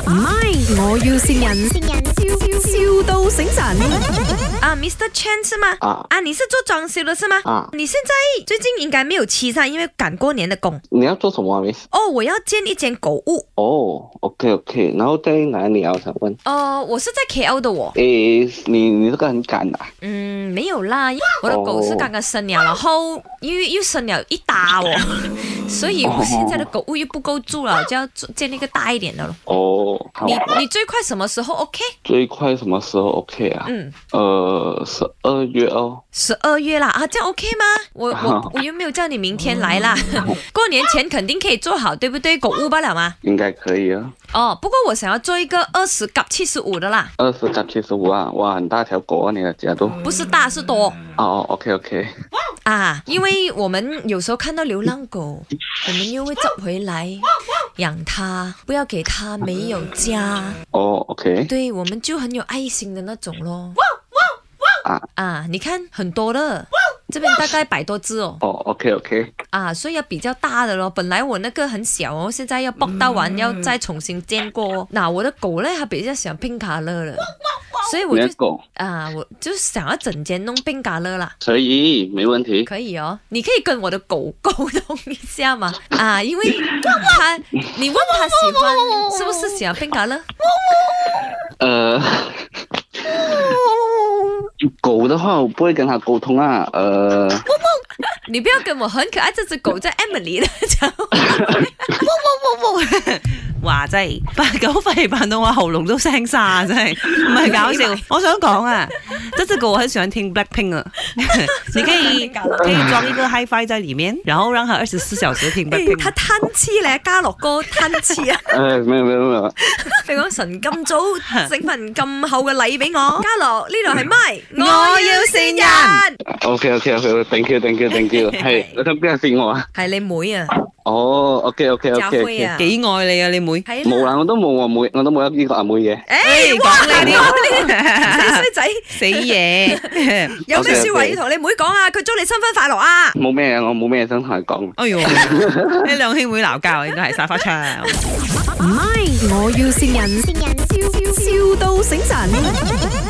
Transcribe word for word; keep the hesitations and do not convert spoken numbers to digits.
唔係，我要線人，笑笑到醒神。 啊，Mister Chen 是嗎？ 啊啊，你是做裝修的是嗎？ 啊， 你現在最近應該沒有期噻，因為趕過年的工。 你要做什麼啊 ，Miss？ 哦，我要建一間狗屋。 哦，OK OK，然後在哪裡啊？我想問。 哦，我是在 K L 的我。 誒，你你這個很趕啊？ 嗯，沒有啦，我的狗是剛剛生了，然後又又生了一打哦，所以我現在的狗屋又不夠住了，就要建一個大一點的咯。 哦，好你啊。 你最快什麼時候 OK？ 最快什麼時候 OK 啊？ 嗯， 呃，十二月哦。 十二月啦，啊，這樣 OK 嗎？我我我又沒有叫你明天來啦，過年前肯定可以做好，對不對？狗屋罷了嗎？ 應該可以啊。 哦，不過我想要做一個二十夾七十五的啦， 二十加七十五啊，哇，很大條狗啊，你的家都。 不是大是多哦，OK OK。 啊，因為我們有時候看到流浪狗，我們又會執回來養它，不要給它沒有家。 哦，OK。 對，我們就很有愛心的那種咯。 啊啊，你看很多的，這邊大概百多隻哦。 哦，OK OK。 啊，所以要比較大的咯。本來我那個很小哦，現在要剝到完，要再重新建過。那我的狗呢，它比較喜歡 pink color 了，所以我就狗啊，我就想要整間弄 pink color 啦。 可以，沒問題。 可以哦，你可以跟我的狗溝通一下嘛。啊，因為它，你問它喜歡，是不是喜歡 pink color？ 呃。狗的話，我不會跟它溝通啊。呃， 你不要跟我很可愛這隻狗叫 Emily 的講。 哇真係八九肺扮到我喉嚨都聲沙，真係唔係搞笑。我想講啊，這隻狗我很喜歡聽 Blackpink 啊，你可以可以裝一個 Hi-Fi 在裡面，然後讓它二十四小時聽 Blackpink。 他貪痴咧，家樂哥貪痴啊！ 誒，沒有沒有沒有。 你講神咁早整份咁厚嘅禮俾我，家樂呢度係咪？ 我要線人。 OK OK OK，thank you thank you thank you。係，你想邊個線我啊？ 係你妹啊！ 哦，OK OK 家 OK 輝啊 OK。 幾愛你啊你妹？ 係冇啦，我都冇我妹，我都冇一呢個阿妹嘅。 誒， 講呢啲死衰仔， 死嘢。 有咩説話要同你妹講啊？佢祝你新婚快樂啊！ 冇咩啊，我冇咩想同佢講。 哎呦，呢兩兄妹鬧交應該係沙發槍。 唔係，我要線人，笑笑到醒神。